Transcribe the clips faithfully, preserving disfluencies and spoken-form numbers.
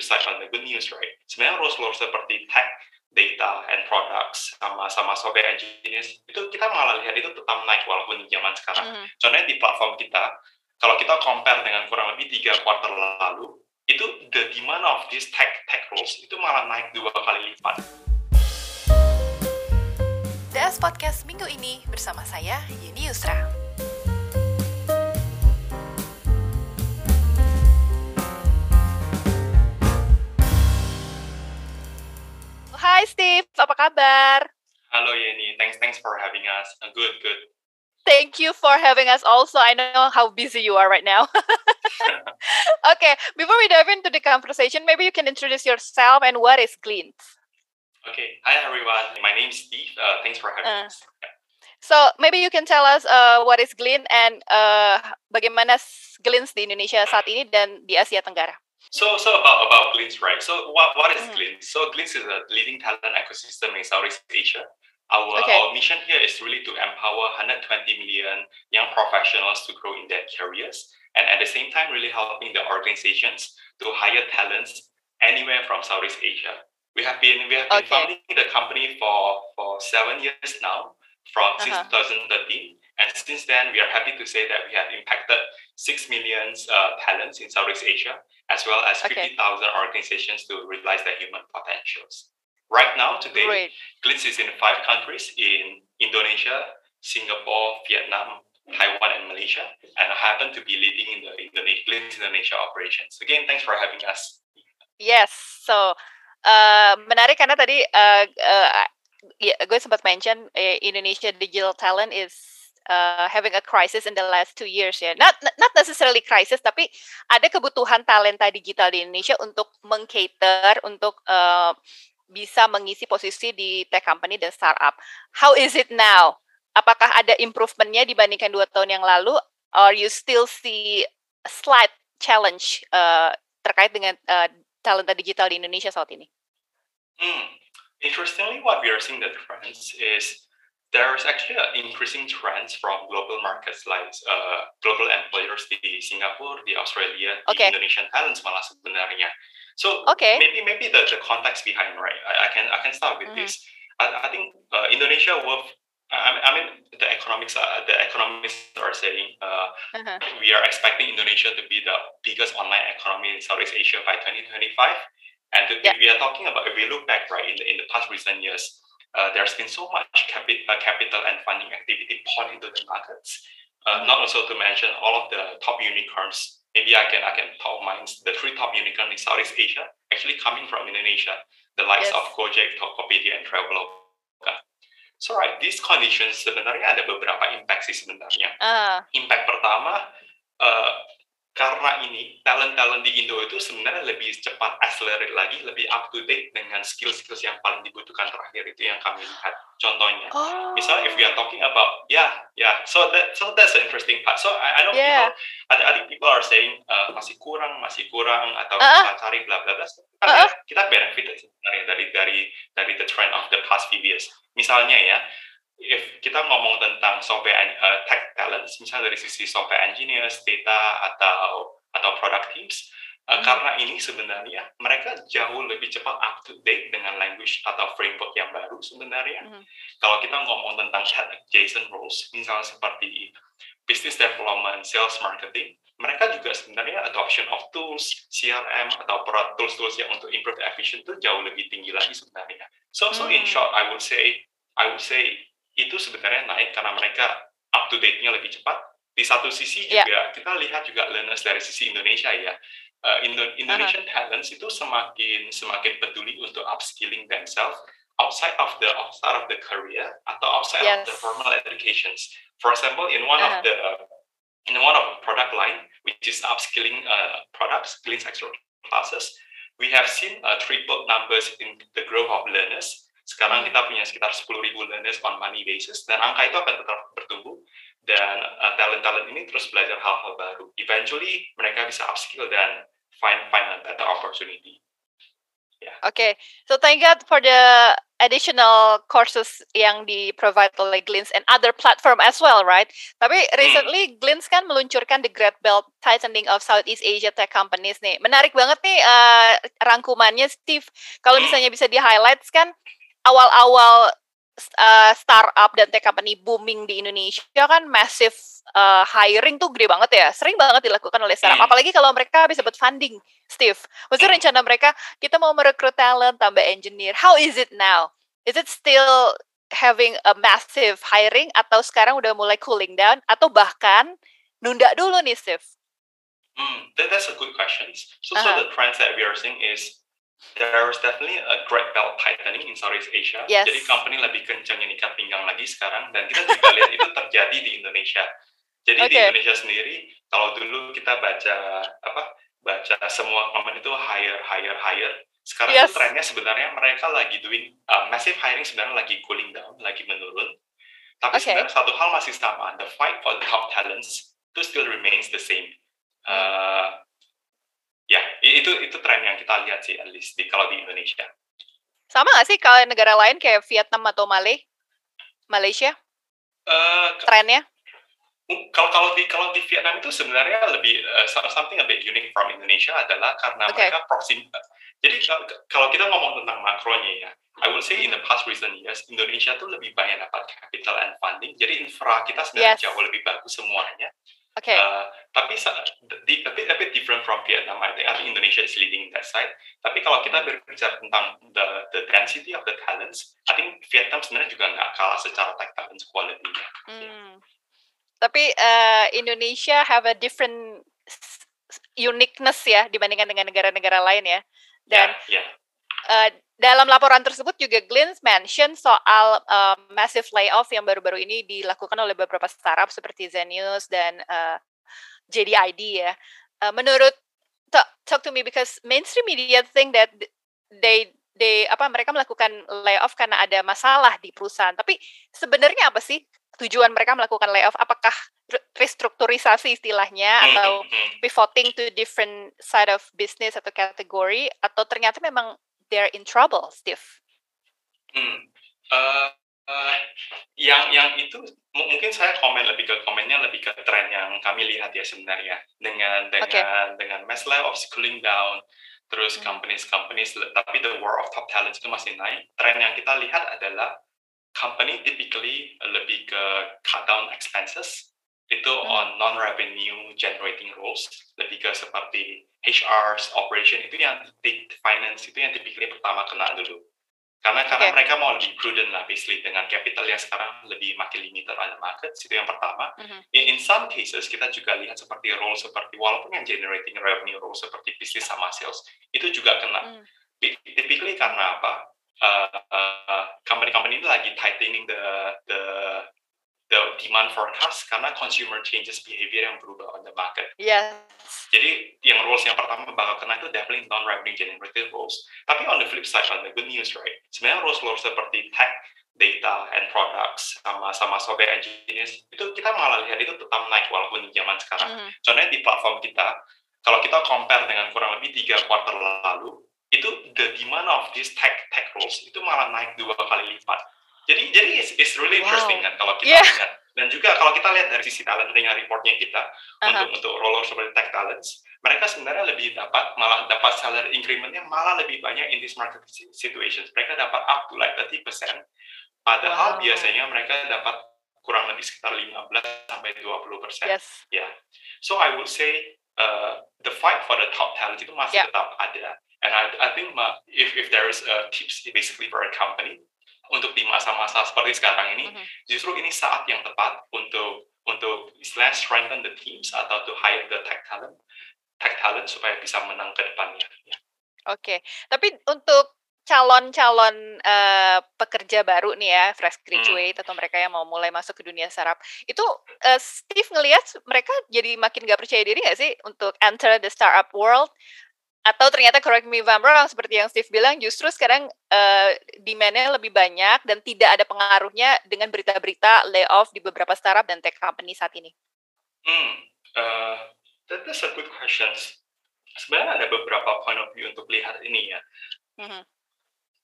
flip side on the good news, right? Sebenarnya role-role seperti tech, data, and products, sama-sama software engineers, itu kita malah lihat itu tetap naik walaupun di zaman sekarang. Mhm. Contohnya di platform kita, kalau kita compare dengan kurang lebih tiga quarter lalu, itu the demand of these tech tech roles itu malah naik dua kali lipat. D S Podcast minggu ini bersama saya, Yeni Yusra. Hai Steve, apa kabar? Halo Yeni, thanks thanks for having us. Uh, good, good. Thank you for having us also. I know how busy you are right now. Okay, before we dive into the conversation, maybe you can introduce yourself and what is Glint? Okay, hi everyone. My name is Steve. Uh, thanks for having Uh. us. Yeah. So maybe you can tell us uh, what is Glint and uh, bagaimana Glint di Indonesia saat ini dan di Asia Tenggara. So, so about about Glint, right? So, what what is Mhm. Glint? So, Glint is a leading talent ecosystem in Southeast Asia. Our Okay. our mission here is really to empower one hundred twenty million young professionals to grow in their careers, and at the same time, really helping the organizations to hire talents anywhere from Southeast Asia. We have been we have been Okay. founding the company for for seven years now, from since Uh-huh. twenty thirteen, and since then, we are happy to say that we have impacted six million uh, talents in Southeast Asia, as well as Okay. fifty thousand organizations to realize their human potentials. Right now, today, Great. Glint is in five countries, in Indonesia, Singapore, Vietnam, Taiwan, and Malaysia, and I happen to be leading in the Indonesia, Glint Indonesia operations. Again, thanks for having us. Yes, so uh, menarik karena tadi uh, uh, ya, gue sempat mention eh, Indonesia digital talent is uh, having a crisis in the last two years ya. Not not necessarily crisis, tapi ada kebutuhan talenta digital di Indonesia untuk mengcater untuk uh, bisa mengisi posisi di tech company dan startup. How is it now? Apakah ada improvement-nya dibandingkan dua tahun yang lalu, or you still see a slight challenge uh, terkait dengan uh, talenta digital di Indonesia saat ini? Hmm. Interestingly, what we are seeing the trends is there's actually an increasing trends from global markets like uh, global employers di Singapura, di Australia, di Okay. Indonesian talents malah sebenarnya. So Okay. maybe maybe the, the context behind, right? I, I can I can start with Mhm. this. I, I think uh, Indonesia will. I, I mean the economics uh, the economists are saying uh, Uh-huh. we are expecting Indonesia to be the biggest online economy in Southeast Asia by twenty twenty-five. And to, Yeah. if we are talking about, if we look back, right, in the, in the past recent years, uh, there's been so much capi- uh, capital and funding activity poured into the markets. Uh, Mhm. Not also to mention all of the top unicorns. Maybe I can I can top mine the three top unicorns in Southeast Asia actually coming from Indonesia, the likes Yes. of Gojek, Tokopedia, and Traveloka. So right, these conditions sebenarnya ada beberapa impact sih sebenarnya. Ah, Impact pertama, uh, karena ini talent-talent di Indo itu sebenarnya lebih cepat accelerate lagi, lebih up to date dengan skill-skills yang paling dibutuhkan terakhir itu yang kami lihat. Contohnya, oh, misalnya if we are talking about, yeah, yeah, so that so that's the interesting part. So I, I know yeah. people, I, I think people are saying uh, masih kurang, masih kurang, atau Uh-uh. susah cari bla bla bla. Kita Uh-uh. lihat, kita benefit sebenarnya dari dari dari the trend of the past few years. Misalnya ya, if kita ngomong tentang software uh, tech talents, misalnya dari sisi software engineers, data atau atau product teams, uh, Mhm. karena ini sebenarnya mereka jauh lebih cepat up to date dengan language atau framework yang baru sebenarnya. Mhm. Kalau kita ngomong tentang tech adjacent roles, misalnya seperti business development, sales marketing, mereka juga sebenarnya adoption of tools, C R M atau product tools-tools yang untuk improve the efficiency itu jauh lebih tinggi lagi sebenarnya. So so in Hmm. short, I would say I would say itu sebenarnya naik karena mereka up to date-nya lebih cepat. Di satu sisi Yeah. juga kita lihat juga learners dari sisi Indonesia ya. Uh, Indo- Indonesian talents itu semakin semakin peduli untuk upskilling themselves outside of the outside of the career atau outside of the Yes. formal educations. For example, in one Uh-huh. of the in one of the product line, which is upskilling uh, products, Glint Extra classes, we have seen uh, triple numbers in the growth of learners. Sekarang Hmm. kita punya sekitar sepuluh ribu learners on money basis, dan angka itu akan tetap bertumbuh, dan uh, talent-talent ini terus belajar hal-hal baru. Eventually, mereka bisa upskill dan find find a better opportunity. Okay, so thank God for the additional courses yang di-provide oleh Glints and other platform as well, right? Tapi Hmm. recently Glints kan meluncurkan the Great Belt Tightening of Southeast Asia Tech Companies nih. Menarik banget nih uh, rangkumannya, Steve. Kalau Hmm. misalnya bisa di-highlights kan awal-awal uh, startup dan tech company booming di Indonesia kan massive uh, hiring tuh gede banget ya. Sering banget dilakukan oleh startup. Hmm. Apalagi kalau mereka bisa dapat funding, Steve. Maksudnya Hmm. rencana mereka, kita mau merekrut talent, tambah engineer. How is it now? Is it still having a massive hiring atau sekarang udah mulai cooling down atau bahkan nunda dulu nih, Steve? Hmm. That, that's a good question. So, so Uh-huh. the trends that we are seeing is there is definitely a great belt tightening in Southeast Asia. Yes. Jadi company lebih kencang ikat pinggang lagi sekarang, dan kita juga lihat itu terjadi di Indonesia. Jadi di Okay. Indonesia sendiri, kalau dulu kita baca apa, baca semua company itu hire, hire, hire. Sekarang Yes. itu trennya sebenarnya mereka lagi doing uh, massive hiring, sebenarnya lagi cooling down, lagi menurun. Tapi Okay. sebenarnya satu hal masih sama, the fight for the top talents itu still remains the same. Uh, Ya, itu itu tren yang kita lihat sih, at least di kalau di Indonesia. Sama nggak sih kalau negara lain kayak Vietnam atau Malay, Malaysia? Uh, Trennya? Kalau kalau di kalau di Vietnam itu sebenarnya lebih uh, something a bit unique from Indonesia adalah karena Okay. mereka proxim. Jadi kalau kita ngomong tentang makronya ya, I would say in the past recent years Indonesia tuh lebih banyak dapat capital and funding. Jadi infra kita sebenarnya Yes. jauh lebih bagus semuanya. Okay. Uh, tapi di, a, bit, a bit different from Vietnam, I think, I think Indonesia is leading that side. Tapi kalau kita berbicara tentang the the density of the talents, I think Vietnam sebenarnya juga nggak kalah secara tech talent quality-nya. Hmm. Yeah. Tapi uh, Indonesia have a different uniqueness ya dibandingkan dengan negara-negara lain ya. Dan yeah, yeah. Uh, dalam laporan tersebut juga Glints mention soal uh, massive layoff yang baru-baru ini dilakukan oleh beberapa startup seperti Zenius dan uh, J D I D ya. Uh, menurut talk, talk to me because mainstream media think that they they apa mereka melakukan layoff karena ada masalah di perusahaan. Tapi sebenarnya apa sih tujuan mereka melakukan layoff? Apakah restrukturisasi istilahnya atau pivoting to different side of business atau kategori, atau ternyata memang they're in trouble, Steve? Hmm. Uh, uh, yang yang itu m- mungkin saya komen lebih ke komennya lebih ke tren yang kami lihat ya sebenarnya dengan dengan Okay. dengan mass layoff cooling down, terus Hmm. companies companies tapi the war of top talents itu masih naik. Tren yang kita lihat adalah company typically lebih ke cut down expenses itu Hmm. on non revenue generating roles, lebih ke seperti H R, operation itu yang di finance itu yang typically pertama kena dulu. Karena karena Okay. mereka mau lebih prudent lah basically dengan capital yang sekarang lebih makin limited on the market, itu yang pertama. Mm-hmm. In, in some cases kita juga lihat seperti role seperti walaupun yang generating revenue role seperti bisnis sama sales itu juga kena. Mm. Typically karena apa? Uh, uh, company-company ini lagi tightening the the the demand forecast karena consumer changes behavior yang berubah on the market. Yes. Jadi yang roles yang pertama bakal kena itu definitely non-revenue generated roles. Tapi on the flip side, on the good news, right? Sebenarnya roles-roles seperti tech, data, and products, sama sama software engineers, itu kita malah lihat itu tetap naik walaupun di zaman sekarang. Mm-hmm. Contohnya di platform kita, kalau kita compare dengan kurang lebih tiga quarter lalu, itu the demand of these tech tech roles itu malah naik dua kali lipat. Jadi jadi it's, it's really interesting wow. kan kalau kita yeah. lihat. Dan juga kalau kita lihat dari sisi talent dengan reportnya kita uh-huh. untuk untuk roller seperti tech talents, mereka sebenarnya lebih dapat malah dapat salary incrementnya malah lebih banyak in this market situations. Mereka dapat up to like thirty percent, padahal wow. biasanya mereka dapat kurang lebih sekitar lima belas sampai dua puluh persen. Yes. Ya, yeah. So I would say uh, the fight for the top talent itu masih yeah. tetap ada. And I I think if if there is a tips basically for a company untuk di masa-masa seperti sekarang ini, mm-hmm. justru ini saat yang tepat untuk untuk istilahnya strengthen the teams atau to hire the tech talent, tech talent supaya bisa menang ke depannya. Ya. Oke, okay. Tapi untuk calon-calon uh, pekerja baru nih ya, fresh graduate hmm. atau mereka yang mau mulai masuk ke dunia startup, itu uh, Steve ngelihat mereka jadi makin gak percaya diri nggak sih untuk enter the startup world? Atau ternyata, correct me if I'm wrong, seperti yang Steve bilang, justru sekarang uh, demand-nya lebih banyak dan tidak ada pengaruhnya dengan berita-berita layoff di beberapa startup dan tech company saat ini? Hmm, uh, that, that's a good question. Sebenarnya ada beberapa point of view untuk lihat ini ya. Mm-hmm.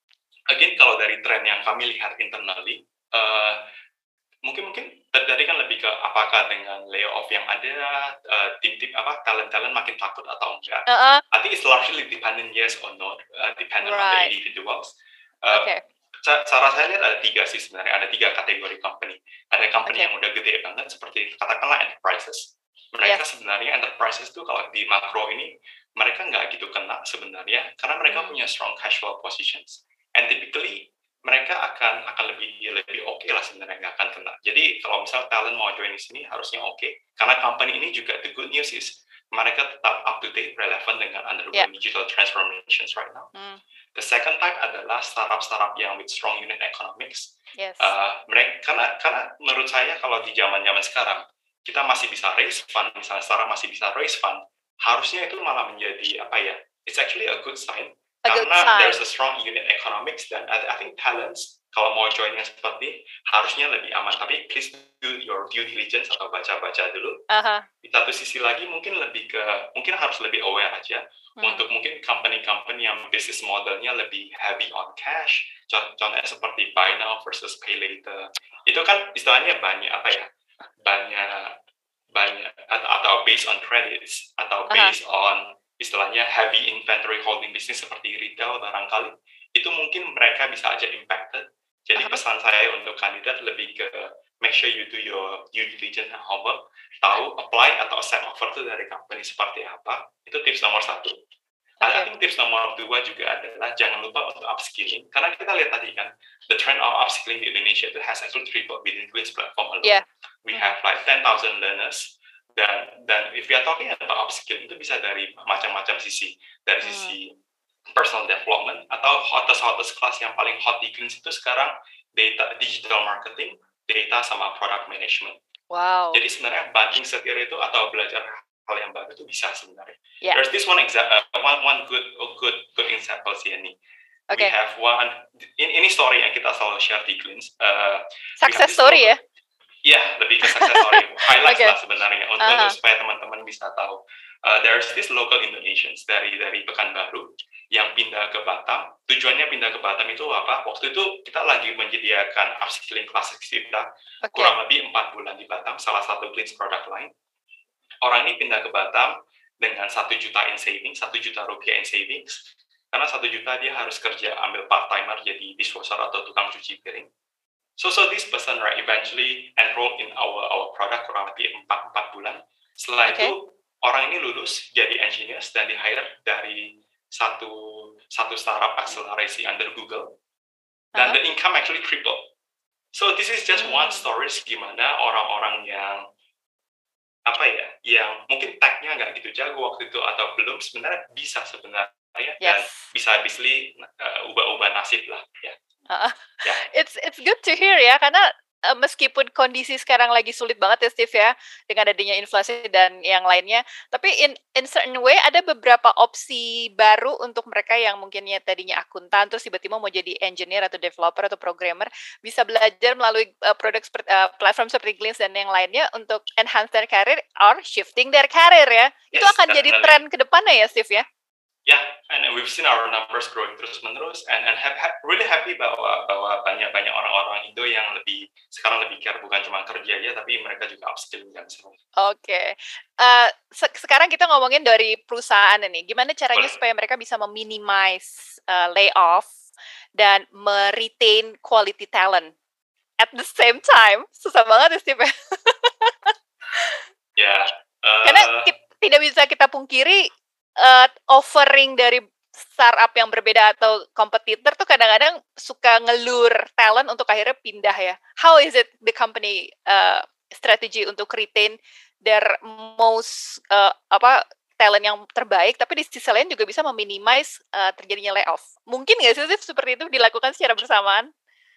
again kalau dari tren yang kami lihat internally, uh, mungkin mungkin tadi kan lebih ke apakah dengan layoff yang ada uh, tim-tim apa talent-talent makin takut atau enggak. Uh-uh. I think it's largely dependent yes or no, uh, dependent on the Right. individuals. Uh, Okay. ca- cara saya lihat ada tiga sih sebenarnya, ada tiga kategori company. Ada company Okay. yang udah gede banget seperti katakanlah enterprises. Mereka Yes. sebenarnya enterprises itu kalau di makro ini mereka nggak gitu kena sebenarnya karena mereka Hmm. punya strong cash flow positions and typically mereka akan akan lebih lebih oke lah sebenarnya nggak akan kena. Jadi kalau misal talent mau join di sini harusnya oke karena company ini juga the good news is mereka tetap up to date, relevant dengan undergoing Yeah. digital transformations right now. Hmm. The second type adalah startup-startup yang with strong unit economics. Yes. Uh, mereka karena karena menurut saya kalau di zaman-zaman sekarang kita masih bisa raise fund, misalnya startup masih bisa raise fund, harusnya itu malah menjadi apa ya? It's actually a good sign A good karena sign. there's a strong unit economics dan I, I think talents kalau mau join yang seperti harusnya lebih aman. Tapi please do your due diligence atau baca-baca dulu. Uh-huh. Di satu sisi lagi mungkin lebih ke mungkin harus lebih aware aja Hmm. untuk mungkin company-company yang business modelnya lebih heavy on cash. Contohnya seperti buy now versus pay later. Itu kan istilahnya banyak apa ya? Banyak banyak atau, atau based on credits atau Uh-huh. based on istilahnya heavy inventory holding business seperti retail barangkali itu mungkin mereka bisa aja impacted. Jadi Uh-huh. pesan saya untuk kandidat lebih ke make sure you do your due diligence and homework, tahu apply atau accept offer itu dari company seperti apa. Itu tips nomor satu. I Okay. think tips nomor dua juga adalah jangan lupa untuk upskilling karena kita lihat tadi kan the trend of upskilling di Indonesia itu has actually tripled within Queen's platform alone. Yeah. We Hmm. have like ten thousand learners dan dan if we are talking about upskilling itu bisa dari macam-macam sisi, dari Hmm. sisi personal development atau hottest hottest class yang paling hot di Queen's itu sekarang data digital marketing, data sama product management. Wow. Jadi sebenarnya banting setir itu atau belajar hal yang baru itu bisa sebenarnya. Yeah. There's this one example, uh, one one good good good example sih ini. We Okay. have one in, ini story yang kita selalu share di Queen's. Uh, Success story ya? Ya, lebih ke success story. Highlights Okay. lah sebenarnya untuk, Uh-huh. untuk supaya teman-teman bisa tahu. Uh, there's this local Indonesians dari dari Pekanbaru yang pindah ke Batam. Tujuannya pindah ke Batam itu apa? Waktu itu kita lagi menyediakan upskilling classes kita Okay. kurang lebih empat bulan di Batam, salah satu Queen's product line. Orang ini pindah ke Batam dengan satu juta in savings, satu juta rupiah in savings. Karena satu juta dia harus kerja ambil part timer jadi dishwasher atau tukang cuci piring. So so this person right eventually enrolled in our our product kurang lebih empat empat bulan. Setelah Okay. itu orang ini lulus jadi engineers dan di hire dari satu satu startup akselerasi under Google dan Uh-huh. the income actually tripled. So this is just one Hmm. story gimana orang-orang yang apa ya, yang mungkin tag-nya nggak gitu jago waktu itu atau belum sebenarnya bisa sebenarnya dan Yes. bisa obviously uh, ubah-ubah nasib lah ya. Uh-uh. Ya. It's it's good to hear ya karena uh, meskipun kondisi sekarang lagi sulit banget ya Steve ya dengan adanya inflasi dan yang lainnya, tapi in in certain way ada beberapa opsi baru untuk mereka yang mungkinnya tadinya akuntan terus tiba-tiba mau jadi engineer atau developer atau programmer bisa belajar melalui uh, produk seperti uh, platform seperti Glints dan yang lainnya untuk enhance their career or shifting their career ya. Itu Yes, akan jadi definitely. tren ke depannya ya Steve ya. Yeah, and we've seen our numbers growing terus-menerus, and and have, have really happy bahwa bahwa banyak-banyak orang-orang Indo yang lebih sekarang lebih care bukan cuma kerja aja, tapi mereka juga upskilling dan sebagainya. Oke, uh, se- sekarang kita ngomongin dari perusahaan ini. Gimana caranya Boleh. supaya mereka bisa meminimize uh, layoff dan meretain quality talent at the same time? Susah banget ya, Steve. Ya, Karena uh, ki- tidak bisa kita pungkiri uh, offering dari startup yang berbeda atau kompetitor tuh kadang-kadang suka ngelur talent untuk akhirnya pindah ya. How is it the company uh, strategy untuk retain their most uh, apa talent yang terbaik, tapi di sisi lain juga bisa meminimize uh, terjadinya layoff. Mungkin nggak sih Steve, seperti itu dilakukan secara bersamaan?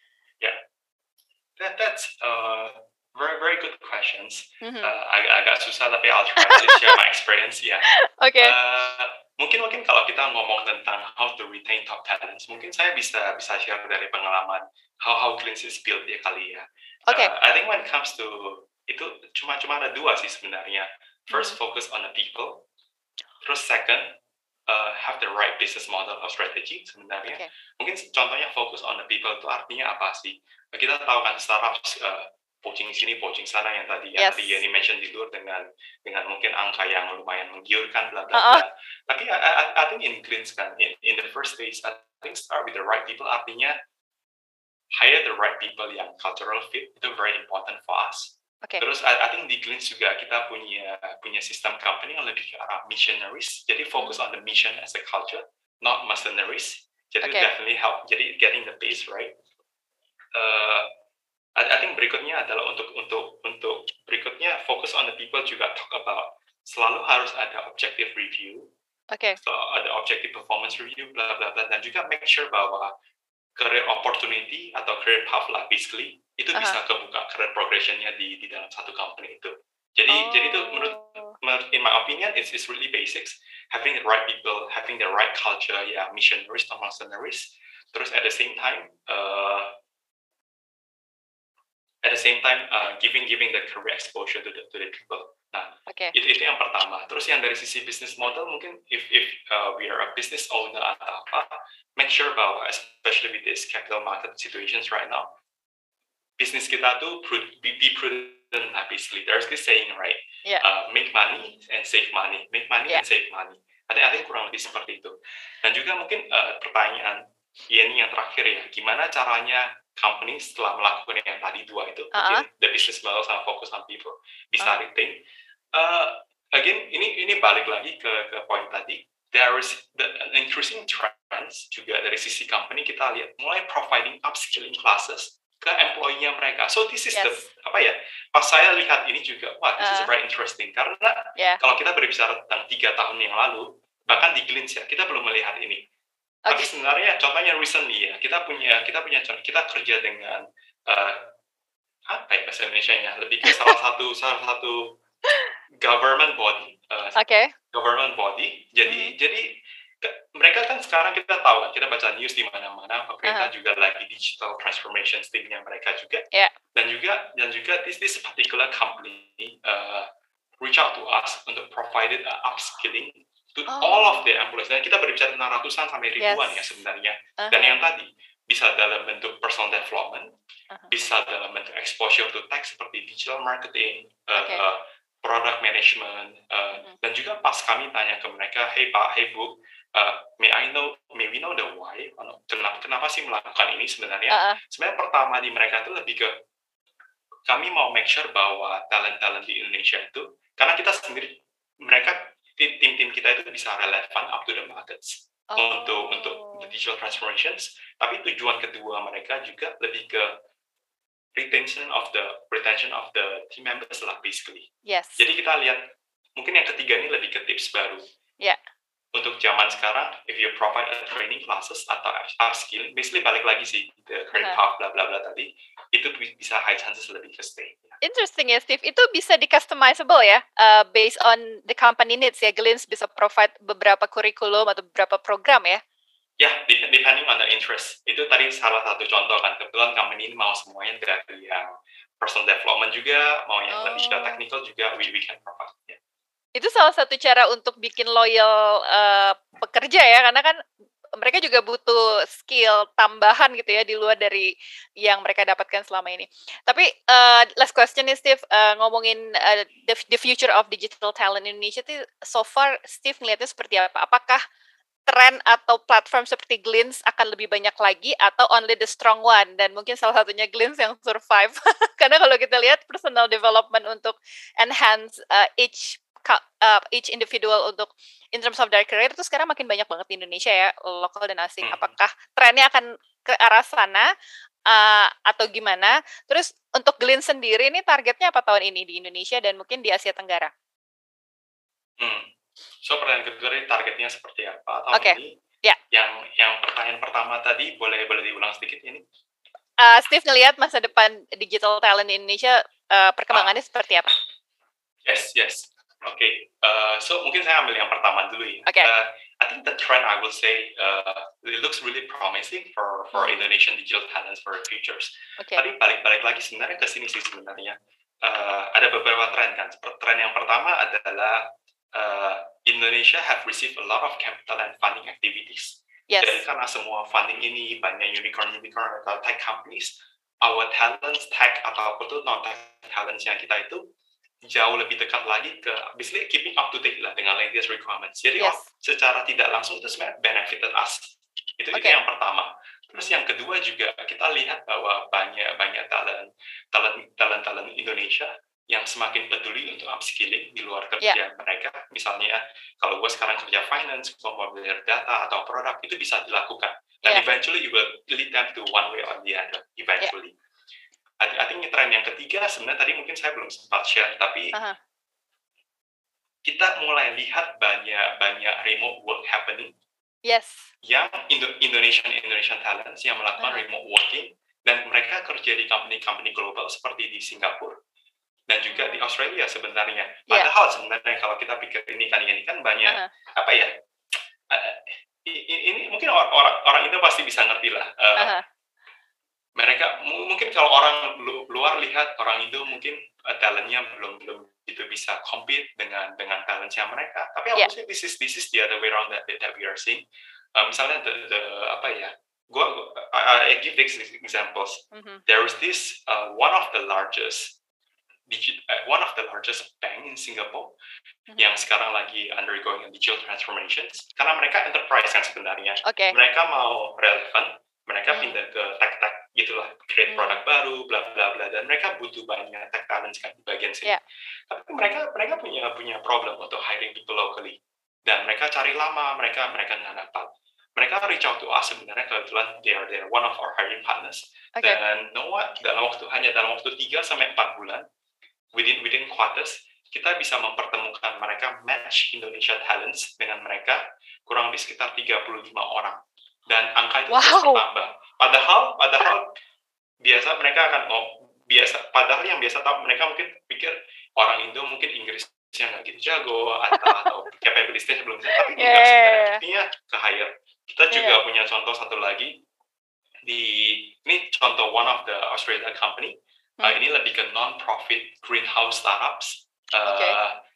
that that's uh, very very good questions. Mhm. Uh, agak agak susah tapi I'll try to share my experience ya. Oke. Uh, mungkin mungkin kalau kita ngomong tentang how to retain top talents, mungkin saya bisa bisa share dari pengalaman how how Glints is built ya kali ya. Oke. Uh, I think when it comes to itu cuma cuma ada dua sih sebenarnya. First Hmm. focus on the people. Terus second uh, have the right business model or strategy sebenarnya. Okay. Mungkin contohnya fokus on the people itu artinya apa sih? Kita tahu kan startup uh, poaching sini, poaching sana yang tadi yang Yes. tadi Yeni mention di luar dengan dengan mungkin angka yang lumayan menggiurkan bla bla Uh-uh. bla. Tapi I, I, I think in Greens kan in, in the first phase I think start with the right people artinya hire the right people yang cultural fit itu very important for us. Okay. Terus I, I think di Greens juga kita punya punya sistem company yang lebih ke arah missionaries. Jadi fokus Hmm. on the mission as a culture, not mercenaries. Jadi Okay. definitely help. Jadi getting the base right. Uh, I, I think berikutnya adalah untuk untuk untuk berikutnya fokus on the people juga talk about selalu harus ada objective review. Okay. So ada objective performance review bla bla bla dan juga make sure bahwa career opportunity atau career path lah basically itu Uh-huh. bisa kebuka career progressionnya di di dalam satu company itu. Jadi Oh. jadi itu menurut, menurut in my opinion it's, it's really basics having the right people, having the right culture ya missionaries atau mercenaries. Terus at the same time uh, at the same time uh, giving giving the career exposure to the to the people. Nah, Okay. itu itu yang pertama. Terus yang dari sisi business model mungkin if if uh, we are a business owner atau apa, make sure bahwa especially with this capital market situations right now, bisnis kita tuh be, be prudent lah basically. There's this saying right, Yeah. uh, make money and save money, make money Yeah. and save money. I think, I think kurang lebih seperti itu. Dan juga mungkin uh, pertanyaan ini yang terakhir ya, gimana caranya company setelah melakukan yang tadi dua itu, Uh-uh. mungkin the business model sama fokus on people bisa Uh. retain. Uh, again, ini ini balik lagi ke ke poin tadi. There is the an increasing trends juga dari sisi company kita lihat mulai providing upskilling classes ke employee-nya mereka. So this is Yes. the apa ya? Pas saya lihat ini juga, wah this is Uh. very interesting karena Yeah. kalau kita berbicara tentang tiga tahun yang lalu, bahkan di Glints ya kita belum melihat ini. Tapi Okay. sebenarnya contohnya recently ya kita punya kita punya kita kerja dengan uh, apa ya bahasa Indonesia-nya lebih ke salah satu salah satu government body uh, Okay. government body. Jadi Mhm. jadi ke- mereka kan sekarang kita tahu kan kita baca news di mana-mana pemerintah Uh-huh. juga lagi digital transformation team-nya mereka juga. Yeah. Dan juga dan juga this this particular company uh, reach out to us untuk provided uh, upskilling to Oh. all of the employees. Dan kita berbicara tentang ratusan sampai ribuan Yes. ya sebenarnya. Uh-huh. Dan yang tadi bisa dalam bentuk personal development, Uh-huh. bisa dalam bentuk exposure to tech seperti digital marketing, uh, Okay. uh, product management, uh, Mhm. dan juga pas kami tanya ke mereka, hey Pak, hey Bu, uh, may I know, may we know the why? Kenapa, kenapa sih melakukan ini sebenarnya? Uh-uh. Sebenarnya pertama di mereka itu lebih ke kami mau make sure bahwa talent-talent di Indonesia itu, karena kita sendiri, mereka tim-tim kita itu bisa relevan up to the markets Oh. untuk untuk the digital transformations. Tapi tujuan kedua mereka juga lebih ke retention of the retention of the team members lah basically. Yes. Jadi kita lihat mungkin yang ketiga ini lebih ke tips baru. Yeah. Untuk zaman sekarang, if you provide a training classes atau upskilling, basically balik lagi sih the career Uh-huh. path bla bla bla tadi, itu bisa high chances lebih ke stay. Interesting ya, Steve. Itu bisa di customizable ya, uh, based on the company needs ya. Glints bisa provide beberapa kurikulum atau beberapa program ya. Ya, yeah, depending on the interest. Itu tadi salah satu contoh kan. Kebetulan company ini mau semuanya dari yang personal development juga, mau yang Oh. lebih ke technical juga, we, we can provide. Yeah. Itu salah satu cara untuk bikin loyal uh, pekerja ya, karena kan mereka juga butuh skill tambahan gitu ya di luar dari yang mereka dapatkan selama ini. Tapi uh, last question nih Steve, uh, ngomongin uh, the, the future of digital talent Indonesia itu so far Steve ngeliatnya seperti apa? Apakah tren atau platform seperti Glints akan lebih banyak lagi atau only the strong one, dan mungkin salah satunya Glints yang survive? Karena kalau kita lihat personal development untuk enhance uh, each Uh, each individual untuk in terms of their career itu sekarang makin banyak banget di Indonesia ya, lokal dan asing. Hmm. Apakah trennya akan ke arah sana uh, atau gimana? Terus untuk Glints sendiri ini targetnya apa tahun ini di Indonesia dan mungkin di Asia Tenggara? Hmm. So pertanyaan kedua ini targetnya seperti apa tahun okay. ini? Ya. Yeah. Yang yang pertanyaan pertama tadi boleh boleh diulang sedikit ini? Uh, Steve ngelihat masa depan digital talent di Indonesia uh, perkembangannya ah. seperti apa? Yes, yes. Oke, okay. uh, so mungkin saya ambil yang pertama dulu ya. Okay. Uh, I think the trend I will say uh, it looks really promising for for hmm. Indonesian digital talents for the futures. Okay. Tapi balik-balik lagi sebenarnya ke sini sih sebenarnya uh, ada beberapa tren kan. Tren yang pertama adalah uh, Indonesia have received a lot of capital and funding activities. Yes. Jadi karena semua funding ini banyak unicorn-unicorn atau tech companies, our talents, tech ataupun tuh non-tech talents yang kita itu jauh lebih dekat lagi ke basically keeping up to date lah dengan latest requirements. Jadi Yes. oh, secara tidak langsung itu sebenarnya benefited us. Itu itu Okay. yang pertama. Terus yang kedua juga kita lihat bahwa banyak banyak talent talent talent talent Indonesia yang semakin peduli untuk upskilling di luar kerja mereka. Misalnya kalau gue sekarang kerja finance, gue mau belajar data atau produk, itu bisa dilakukan. Dan Yeah. eventually it will lead them to one way or the other. Eventually. I, I think tren yang ketiga sebenarnya tadi mungkin saya belum sempat share, tapi Uh-huh. kita mulai lihat banyak banyak remote work happening. Yes. Yang Indo- Indonesian Indonesian talents yang melakukan Uh-huh. remote working dan mereka kerja di company-company global seperti di Singapura dan juga di Australia sebenarnya. Yeah. Padahal sebenarnya kalau kita pikir ini kan ini kan banyak Uh-huh. apa ya? Uh, ini, ini mungkin orang orang orang Indo pasti bisa ngerti lah. Uh, Uh-huh. Mereka m- mungkin kalau orang lu- luar lihat orang Indo mungkin uh, talentnya belum belum itu bisa compete dengan dengan talentnya mereka. Tapi Yeah. aku sih this is this is the other way around that that we are seeing. Uh, misalnya the, the apa ya? Gua, gua I, I give these examples. Mhm. There is this uh, one of the largest digit uh, one of the largest bank in Singapore Mhm. yang sekarang lagi undergoing digital transformations karena mereka enterprise kan sebenarnya. Okay. Mereka mau relevan, mereka Hmm. pindah ke tech-tech gitulah, create Hmm. produk baru, bla bla bla, dan mereka butuh banyak tech talents kan di bagian sini. Yeah. Tapi mereka mereka punya punya problem untuk hiring people locally, dan mereka cari lama, mereka mereka nggak dapat. Mereka reach out to us sebenarnya kebetulan they are, they are one of our hiring partners. Okay. Dan know what, dalam waktu hanya dalam waktu tiga sampai empat bulan, within within quarters, kita bisa mempertemukan mereka match Indonesia talents dengan mereka kurang lebih sekitar tiga puluh lima orang. Dan angka itu terus Wow. bertambah. Padahal padahal biasa mereka akan oh, biasa padahal yang biasa tahu mereka mungkin pikir orang Indo mungkin Inggrisnya nggak gitu jago atau atau capability-nya belum bisa, tapi Yeah. enggak sebenarnya buktinya ke hire. Kita juga Yeah. punya contoh satu lagi di ini contoh one of the Australia company. Uh, Hmm. ini lebih ke non-profit greenhouse startups. Uh, Okay.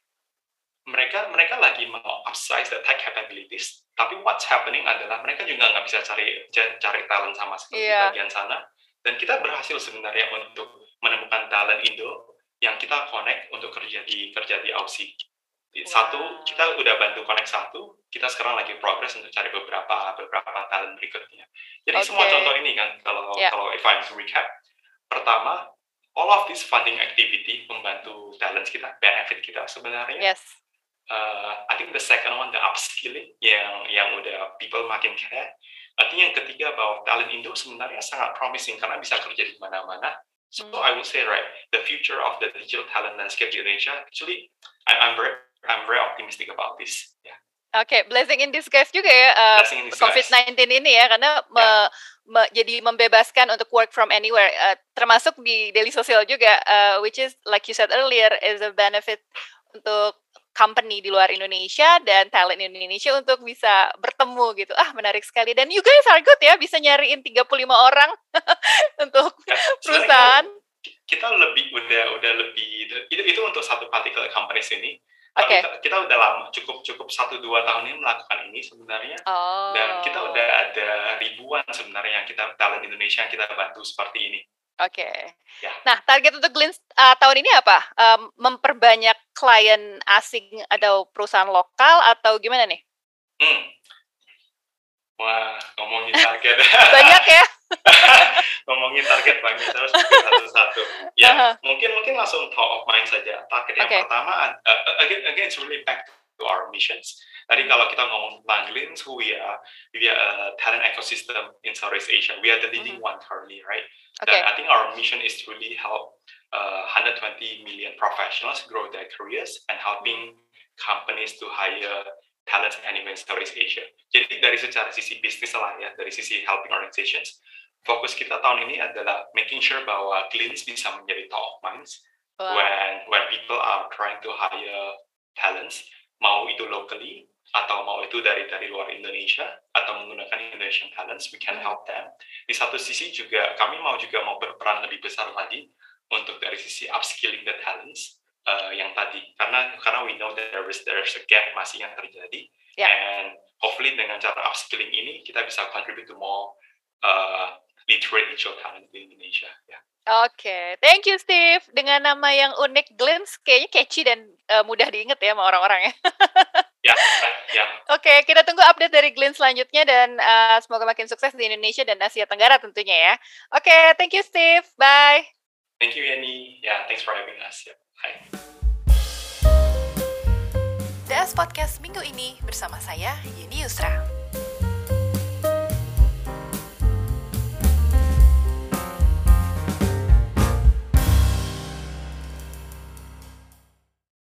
Mereka mereka lagi mau upsize the tech capabilities, tapi what's happening adalah mereka juga nggak bisa cari ja- cari talent sama sekali Iya. di bagian sana. Dan kita berhasil sebenarnya untuk menemukan talent Indo yang kita connect untuk kerja di kerja di Aussie. Satu, Wow. kita udah bantu connect satu, kita sekarang lagi progress untuk cari beberapa beberapa talent berikutnya. Jadi semua Okay. contoh ini kan, kalau Yeah. kalau if I'm to recap, pertama, all of this funding activity membantu talents kita, benefit kita sebenarnya. Yes. Uh, I think the second one, the upskilling yang yang udah people makin care. I think yang ketiga bahwa talent Indo sebenarnya sangat promising karena bisa kerja di mana-mana. So Hmm. I would say right, the future of the digital talent landscape di Indonesia actually I, I'm very I'm very optimistic about this. Yeah. Oke, blessing in disguise juga ya uh, Blessing in disguise. COVID sembilan belas ini ya, karena me- me- jadi membebaskan untuk work from anywhere, uh, termasuk di daily social juga, uh, which is like you said earlier is a benefit untuk company di luar Indonesia dan talent Indonesia untuk bisa bertemu gitu. Ah, menarik sekali. Dan you guys are good ya, bisa nyariin tiga puluh lima orang untuk Ya, perusahaan. sebenarnya kita lebih udah udah lebih itu itu untuk satu particular company sini. Oke. Tapi kita, kita udah lama cukup cukup satu dua tahun ini melakukan ini sebenarnya. Oh. Dan kita udah ada ribuan sebenarnya yang kita talent Indonesia yang kita bantu seperti ini. Oke. Ya. Nah, target untuk Glints uh, tahun ini apa? Um, memperbanyak klien asing atau perusahaan lokal atau gimana nih? Hmm. Wah, ngomongin target. Banyak ya? Ngomongin target banyak, terus pikir satu-satu. Ya, Uh-huh. mungkin mungkin langsung top of mind saja. Target yang Okay. pertama, uh, again again it's really back to our missions. Tadi Hmm. kalau kita ngomong tentang Glints, who we are, we are a talent ecosystem in Southeast Asia. We are the leading Mhm. one currently, right? Okay. Dan I think our mission is to really help uh, one hundred twenty million professionals grow their careers and helping companies to hire talents anywhere in Southeast Asia. Jadi dari secara sisi bisnis lah ya, dari sisi helping organizations, fokus kita tahun ini adalah making sure bahwa Glints bisa menjadi top of minds Wow. when when people are trying to hire talents, mau itu locally atau mau itu dari dari luar Indonesia atau menggunakan Indonesian talents, we can Mhm. help them. Di satu sisi juga kami mau juga mau berperan lebih besar lagi untuk dari sisi upskilling the talents uh, yang tadi, karena karena we know that there is there's a gap masih yang terjadi, yeah. and hopefully dengan cara upskilling ini kita bisa contribute to more uh, literate digital talent di Indonesia. Ya. Oke, okay. Thank you Steve. Dengan nama yang unik Glints, kayaknya catchy dan uh, mudah diingat ya sama orang-orang ya. Ya, ya. Oke, okay, kita tunggu update dari Glints selanjutnya dan uh, semoga makin sukses di Indonesia dan Asia Tenggara tentunya ya. Oke, okay, thank you Steve. Bye. Thank you Yani. Ya, yeah, thanks for having us. Yeah. Bye. D A S Podcast minggu ini bersama saya Yeni Yusra.